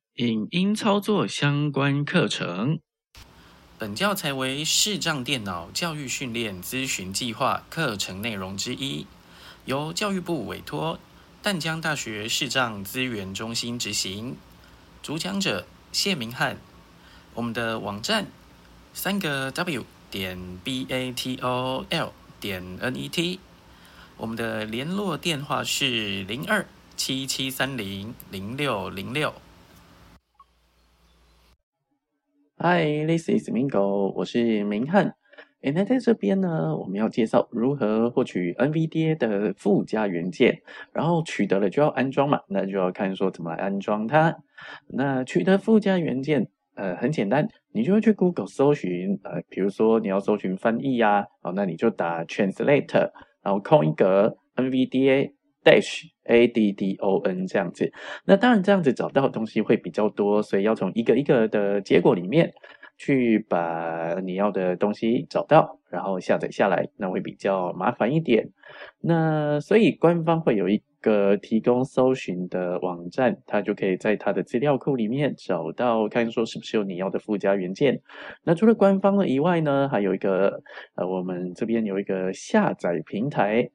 影音操作相关课程。本教材为视障电脑教育训练咨询计划课程内容之一，由教育部委托淡江大学视障资源中心执行。主讲者谢明翰。我们的网站3w.batol.net。我们的联络电话是02-7730-0606。Hi, this is Mingo， 我是明翰。那在这边呢，我们要介绍如何获取 NVDA 的附加元件，然后取得了就要安装嘛，那就要看说怎么来安装它。那取得附加元件，很简单，你就会去 Google 搜寻，比如说你要搜寻翻译啊，那你就打 translate， 然后空一格 NVDA-ADDON 这样子。那当然这样子找到的东西会比较多，所以要从一个一个的结果里面去把你要的东西找到，然后下载下来，那会比较麻烦一点。那所以官方会有一个提供搜寻的网站，它就可以在它的资料库里面找到，看说是不是有你要的附加元件。那除了官方的以外呢，还有一个我们这边有一个下载平台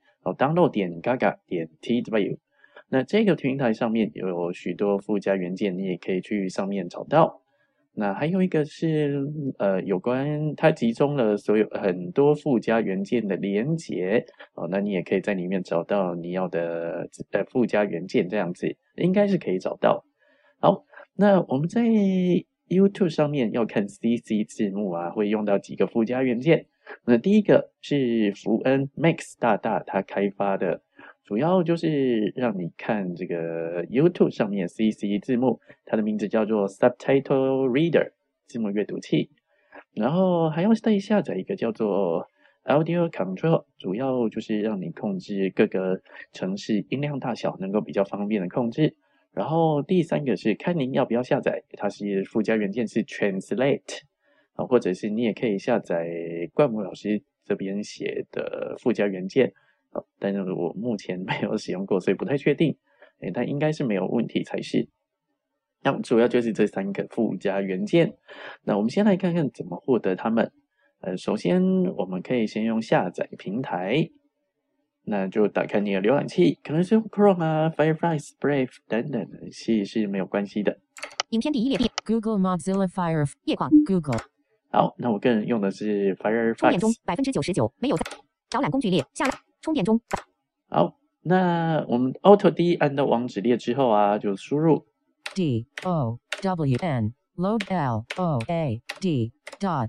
，download.gaga.tw。那这个平台上面有许多附加元件，你也可以去上面找到。那还有一个是有关它集中了所有很多附加元件的连结，那你也可以在里面找到你要的附加元件，这样子应该是可以找到。好，那我们在 YouTube 上面要看 CC 字幕啊，会用到几个附加元件。那第一个是福恩 Max 大大他开发的，主要就是让你看这个 YouTube 上面 CC 字幕，它的名字叫做 Subtitle Reader 字幕阅读器。然后还要再下载一个叫做 Audio Control， 主要就是让你控制各个程式音量大小能够比较方便的控制。然后第三个是看您要不要下载，它是附加元件是 Translate，或者是你也可以下载冠武老师这边写的附加元件，但是我目前没有使用过，所以不太确定，但应该是没有问题才是。那主要就是这三个附加元件。那我们先来看看怎么获得它们。首先我们可以先用下载平台，那就打开你的浏览器，可能是用 Chrome 啊、Firefox、Brave 等等，是没有关系的。 影片第一列 Google Mozilla Fire 页框 Google。 好，那我个人用的是 Firefox。 充电中99%没有导览工具列下拉充电中。 好，那我们 Auto D 按到网址列之后啊，就输入 DOWN load LOAD dot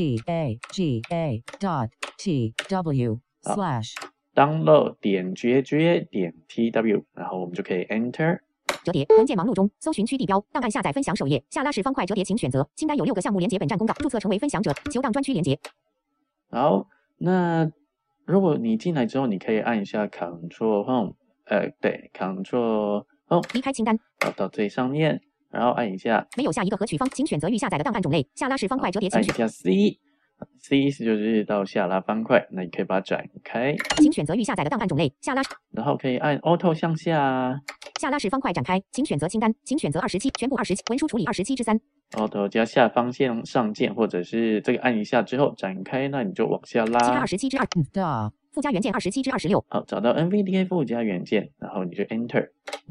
GAGA dot TW slash download 点 GAGA 点 TW， 然后我们就可以 Enter。 折叠文件忙碌中，搜寻区地标档案下载分享首页下拉式方块折叠，请选择清单有6个项目连接本站公告，注册成为分享者，求档专区连接。 好，那如果你进来之后，你可以按一下 Ctrl Home， 对 Ctrl Home 离开清单， 到最上面，然后按一下没有下一个合取方，请选择预下载的档案种类下拉式方块折叠，请按一下 C 就是到下拉方块，那你可以把它展开， 请选择预下载的档案种类下拉， 然后可以按 Auto 向下， 下拉式方块展开，请选择清单，请选择27，全部27，文书处理27/3。 Auto 加下方向上键，或者是这个按一下之后展开，那你就往下拉。 27/2附加元件27/26。 好，找到 NVDA 附加元件，然后你就 Enter。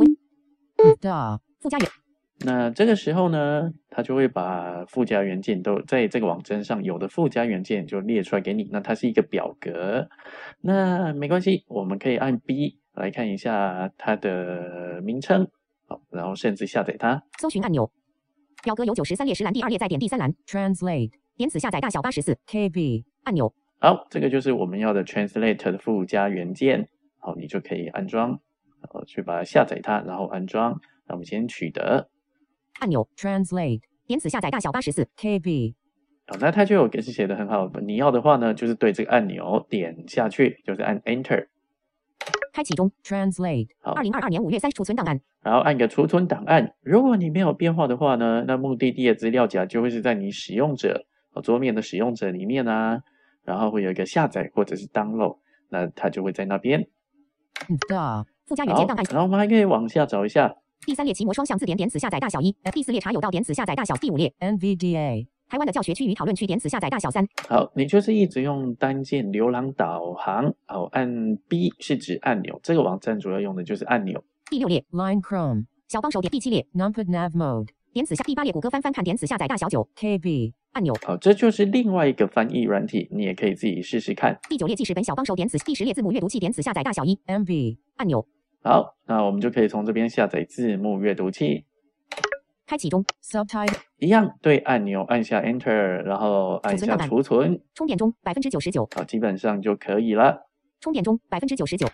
附加元。 那这个时候呢，它就会把附加元件都在这个网站上有的附加元件就列出来给你。那它是一个表格，那没关系，我们可以按 B 来看一下它的名称，好，然后甚至下载它。 搜寻按钮，表格有93列10栏，第2列再点第3栏 Translate， 点此下载大小84 KB 按钮。 好，这个就是我们要的 Translate 的附加元件，好，你就可以安装，去把它下载它，然后安装。那我们先取得按钮 Translate， 点此下载大小84 KB。 好，那它就有写的很好，你要的话呢，就是对这个按钮点下去，就是按 Enter。 开启中 Translate。好，2022年5月3日储存档案， 然后按个储存档案。如果你没有变化的话呢，那目的地的资料夹就会是在你使用者桌面的使用者里面啊，然后会有一个下载或者是 download， 那它就会在那边。 附加元件档案。 然后我们还可以往下找一下第3列奇摩双向字典点此下载大小1，第4列查有道点此下载大小第5列 NVDA 台湾的教学区与讨论区点此下载大小3。 好，你就是一直用单键浏览导航，好，按 B 是指按钮，这个网站主要用的就是按钮。 第6列 Line Chrome 小帮手点第7列 Numpad Nav Mode 点此下第8列谷歌翻看点此下载大小9 KB 按钮。 好，这就是另外一个翻译软体，你也可以自己试试看。 第9列记事本小帮手点此第10列字母阅读器点此下载大小1 MB 按钮。 好，那我们就可以从这边下载字幕阅读器。 开启中 Subtitle 一样对按钮按下 Enter， 然后按下储存。 充电中99%。 好，基本上就可以了。 充电中99%。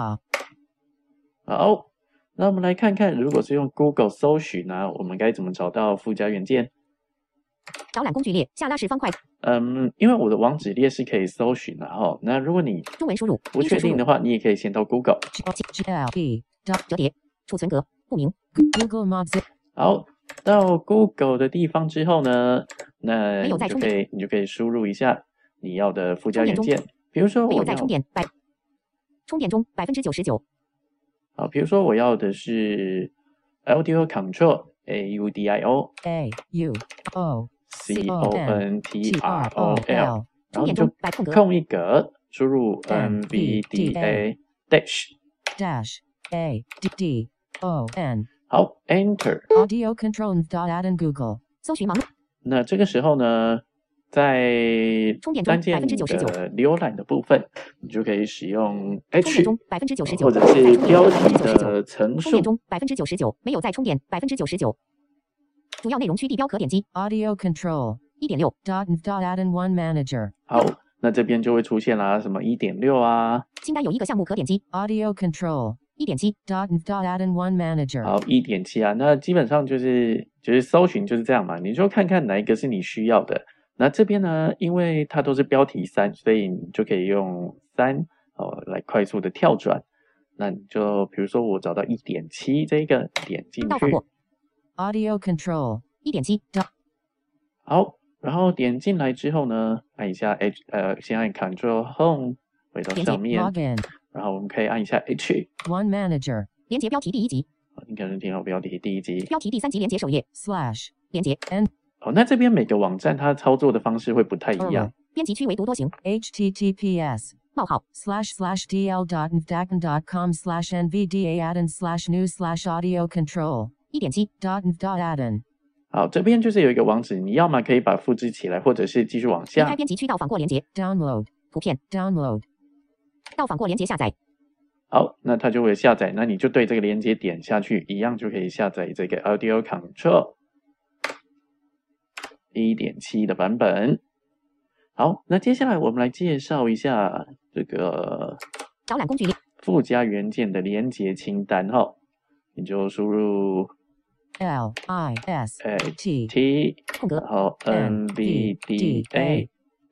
好，那我们来看看，如果是用 Google 搜寻呢，我们该怎么找到附加元件？ 导览工具列下拉式方块。 因为我的网址列是可以搜寻的哈。那如果你中文输入不确定的话，你也可以先到 Google 折叠储存格不明 Google Maps。 好，到 Google 的地方之后呢，那没有在充电你就可以输入一下你要的附加元件，比如说没有在充电充电中99%。 好，比如说我要的是 Audio Control AUDIO CONTROL，然后你就空一格，输入 NVDA -ADDON 好 Enter Audio Control.add Google 搜寻盲目。 那这个时候呢，在单键的浏览的部分，你就可以使用 H 或者是标题的层数。 充电中99%，没有在充电99%。主要内容区地标可点击 Audio Control 1.6 .add One Manager 好，那这边就会出现啦，什么 1.6 啊。 清单有一个项目可点击 Audio Control 1.7 .add One Manager 好 1.7 啊，那基本上就是搜寻就是这样嘛，你就看看哪一个是你需要的。那这边呢，因为它都是标题3，所以你就可以用3来快速的跳转。那你就比如说我找到 1.7 这个点进去 Audio Control 1.7 好，然后点进来之后呢，按一下先按 Ctrl Home 回到上面，然后我们可以按一下 H One Manager 连接标题第1集， 你可能听到标题第1集， 标题第3集连接首页 / 连接 N 好，那这边每个网站它操作的方式会不太一样。 编辑区为读多行 https //dl.nvdaccom/nvda/addon/news/audio control 1.7 .addon 好，这边就是有一个网址，你要么可以把它复制起来，或者是继续往下。 离开编辑区到访过连接 Download 图片 Download 到访过连接下载。 好，那它就会下载，那你就对这个连接点下去，一样就可以下载这个 Audio Control 1.7 的版本。好，那接下来我们来介绍一下这个导览工具列附加元件的连接清单哈，你就输入 LIST 空格然后 NVDA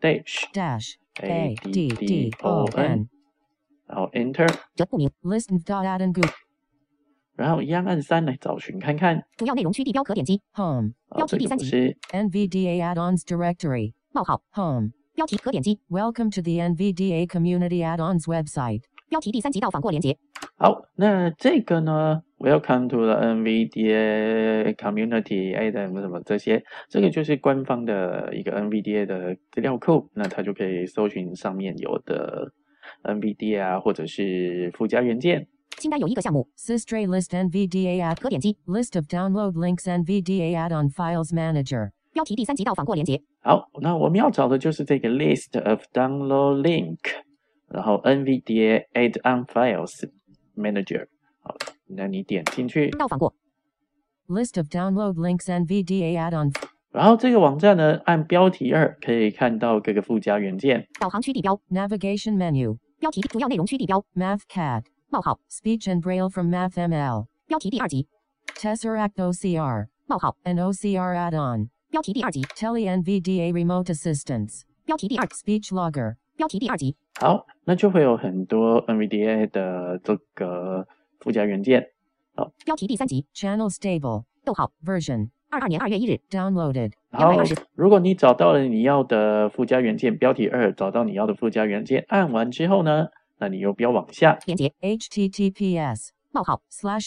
-ADDON 然后 Enter 这不明 Listen.addon Google 然后一样按3来找寻看看。 主要内容区地标可点击 Home 标题第3集是 NVDA Add-ons Directory Home 标题可点击 Welcome to the NVDA Community Add-ons website 标题第3集到访过连接。 好，那这个呢 Welcome to the NVDA Community Add-ons 什么这些，这个就是官方的一个 NVDA 的资料库，那它就可以搜寻上面有的 NVDA 啊，或者是附加元件。 清单有一个项目 Systray List NVDA Add 可点击 List of Download Links NVDA Add-on Files Manager 标题第3集到访过连接。 好，那我们要找的就是这个 List of Download Link， 然后 NVDA Add-on Files Manager。好，那你点进去到访过 List of Download Links NVDA Add-on 然后这个网站呢，按标题2可以看到各个附加元件。 导航区地标 Navigation Menu 标题主要内容区地标 MathCAD Speech and Braille from MathML 标题第2集 Tesseract OCR An OCR Add-on 标题第2集 Tele-NVDA Remote Assistance 标题第2 Speech Logger 标题第2集。 好，那就会有很多 NVDA 的这个附加元件。好， 标题第3集 Channel Stable Version 22年2月1日 Downloaded 好 220。 如果你找到了你要的附加元件，标题2找到你要的附加元件，按完之后呢，那你又标往下连接 https 冒号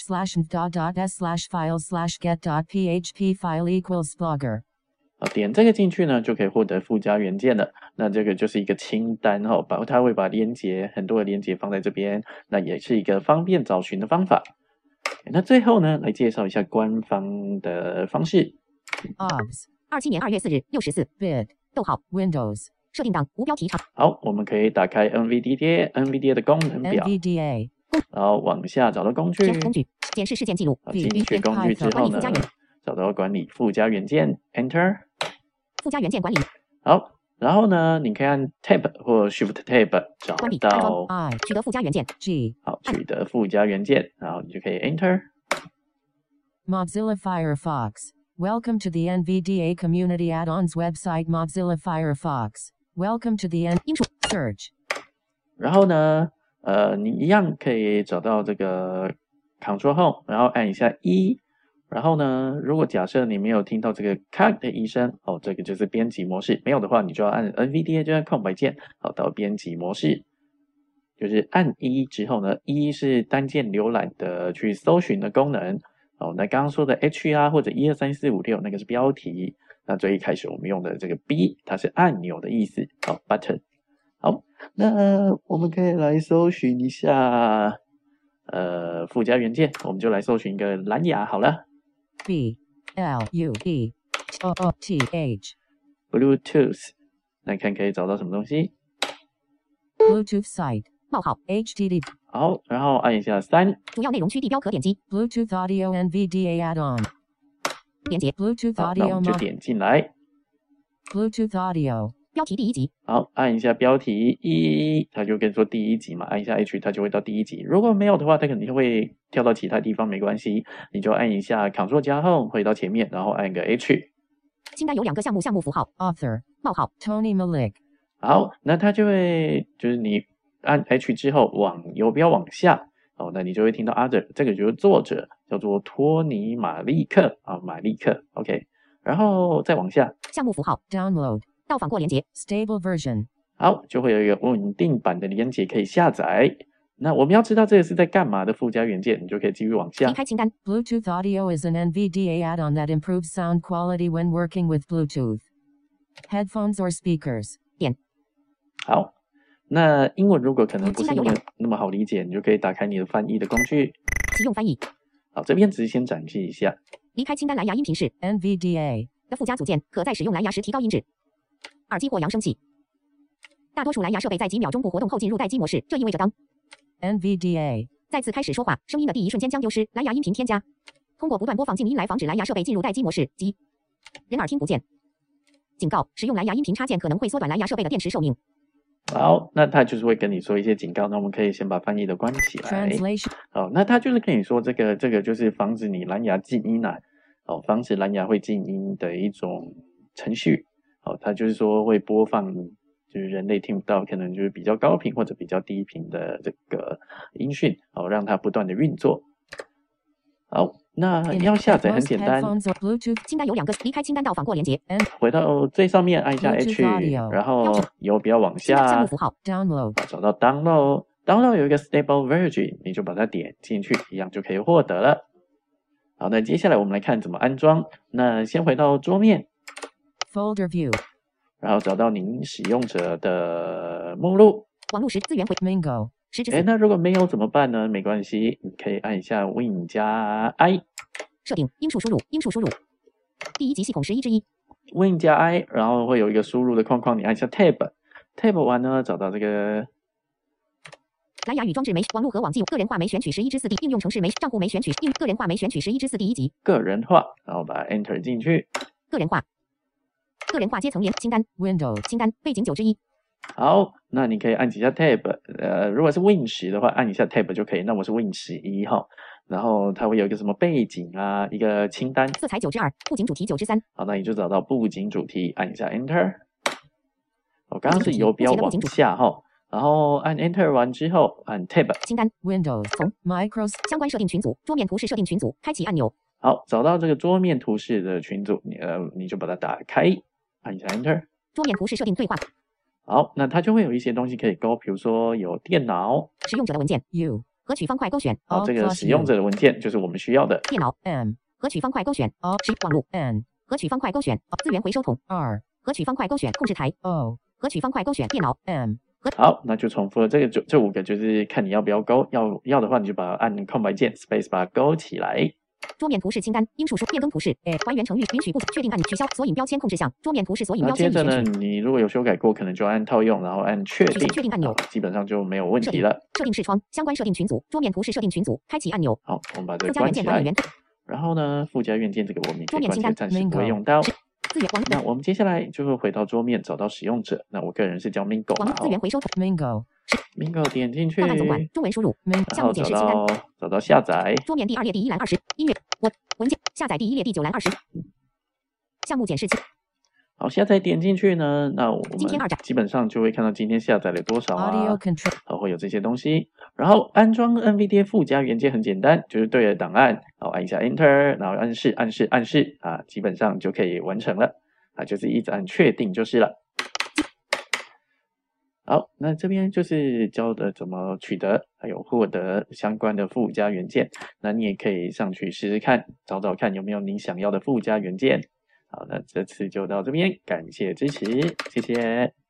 //and.s/files/get.php file equals blogger. 点这个进去呢，就可以获得附加元件了。那这个就是一个清单哦，它会把很多的连结放在这边，那也是一个方便找寻的方法。那最后呢，来介绍一下官方的方式。 obs. 27年2月4日6时4 bit. 逗号 Windows. 设定档无标题长。 好，我们可以打开 NVDA 的功能表， NVDA. 然后往下找到工具， 工具检视事件记录。 进去工具之后呢，找到管理附加元件 Enter。 附加元件管理。 好，然后呢，你可以按 Tab 或 Shift Tab 找到取得附加元件 G。 好，取得附加元件，然后你就可以 Enter。 Mozilla Firefox. Welcome to the NVDA Community Add-ons website Mozilla Firefox. Welcome to the search. 然后呢，你一样可以找到这个 Ctrl Home， 然后按一下1。然后呢，如果假设你没有听到这个咔的一声，这个就是编辑模式。没有的话，你就要按 NVDA 就按空白键，到编辑模式。就是按1之后呢，1是单键浏览的去搜寻的功能。那刚刚说的 H 啊或者1234566那个是标题。那最一开始我们用的这个 B， 它是按钮的意思。button。好，那我们可以来搜寻一下附加元件，我们就来搜寻一个蓝牙好了。 BLUETOOTH Bluetooth， 来看可以找到什么东西。 Bluetooth site 冒号 HTTP 好，然后按一下3， 主要内容区地标可点击 Bluetooth Audio NVDA Add-on 连接 Bluetooth 那我 Audio 们就点进来。 Bluetooth Audio 标题第1集。 好，按一下标题1，它就跟你说第1集嘛，按一下 H 它就会到第1集。如果没有的话，它肯定会跳到其他地方，没关系，你就按一下 Ctrl 加 Home 回到前面，然后按个 H。 清单有2个项目符号 Author 冒号 Tony Malik 好，那它就会就是你按 H 之后往游标往下，那你就会听到 Other， 这个就是作者叫做托尼马利克马利克 OK， 然后再往下项目符号 Download 到访过连接 Stable Version 好，就会有一个稳定版的连结可以下载。那我们要知道这个是在干嘛的附加元件，你就可以继续往下。 离开清单 Bluetooth Audio is an NVDA add-on that improves sound quality when working with Bluetooth headphones or speakers 点好，那英文如果可能不是那么好理解，你就可以打开你的翻译的工具， 启用翻译。 好，这边只是先展示一下。 离开清单蓝牙音频室 NVDA 的附加组件，可在使用蓝牙时提高音质。耳机或扬声器。大多数蓝牙设备在几秒钟不活动后进入待机模式，这意味着当 NVDA 再次开始说话，声音的第一瞬间将丢失。蓝牙音频添加。通过不断播放静音来防止蓝牙设备进入待机模式及人耳听不见。警告：使用蓝牙音频插件可能会缩短蓝牙设备的电池寿命。 好，那他就是会跟你说一些警告，那我们可以先把翻译的关起来。 Translation 好，那他就是跟你说这个就是防止你蓝牙静音防止蓝牙会静音的一种程序。它就是说会播放就是人类听不到，可能就是比较高频或者比较低频的这个音讯，让它不断的运作。好，那要下载很简单， 清单有2个，离开清单到访过连接， 回到最上面按一下 H， 然后游标往下， 项目符号 Download 找到 Download 有一个 Stable Version， 你就把它点进去，一样就可以获得了。好，那接下来我们来看怎么安装。那先回到桌面 Folder View， 然后找到您使用者的目录， 网络时资源回 Mingo 那如果没有怎么办呢？没关系，你可以按一下 Win 加 I 设定音数输入第1级系统11之1 Win 加 I， 然后会有一个输入的框框，你按一下 Tab 完呢，找到这个蓝牙与装置没网络和网际个人化没选取11之4第应用程式没账户没选取个人化没选取11之4第1级个人化，然后把它 Enter 进去。 个人化阶层连清单 Windows 清单背景9之1。 好，那你可以按几下 Tab， 如果是 Win 10的话，按一下 Tab 就可以。那我是 Win 11哈，然后它会有一个什么背景啊，一个清单， 色彩9之2，布景主题9之3。 好，那你就找到布景主题，按一下 Enter。我刚刚是游标往下哈，然后按 Enter 完之后按 Tab 清单 Windows 从 Microsoft 相关设定群组桌面图示设定群组开启按钮。 好，找到这个桌面图示的群组，你就把它打开，按一下 Enter。 桌面图示设定对话。 好，那它就会有一些东西可以勾，比如说有电脑、 使用者的文件 U 合取方块勾选好， Alt 这个 plus 使用 U 者的文件就是我们需要的。 电脑 M 合取方块勾选 Alt 是网络 N 合取方块勾选资源回收桶 R 合取方块勾选控制台 O 合取方块勾选电脑 M 好，那就重复了这5个，就是看你要不要勾，要的话你就把它按空白键 Space 把它勾起来。 桌面图示清单应数数变更图示还原程序允许不确定按钮取消索引标签控制项桌面图示索引那标签已接着呢， 选取你如果有修改过，可能就按套用，然后按确定， 确定按钮基本上就没有问设定题了。 设定视窗相关设定群组桌面图示设定群组开启按钮好，我们把这个附加元关起来件管理员。 然后呢，附加元件这个我们可以关键桌面清单暂时不会用到。 资源网那我们接下来就会回到桌面，找到使用者。那我个人是叫 Mingo 网嘛， 络资源回收桶 Mingo Mingo 点进去， 档案总管中文输入 Mingo 项目检视清单找到下载。 桌面第2列第1栏20音乐文件下载第1列第9栏20项目检视器好，下载点进去呢，那我今天们 2展基本上就会看到今天下载了多少 Audio 啊， Control 会有这些东西。然后安装 NVDA 附加元件很简单，就是对着档案，然后按一下 Enter， 然后按示啊，基本上就可以完成了啊，就是一直按确定就是了。好，那这边就是教的怎么取得还有获得相关的附加元件，那你也可以上去试试看，找找看有没有你想要的附加元件。好，那这次就到这边，感谢支持，谢谢。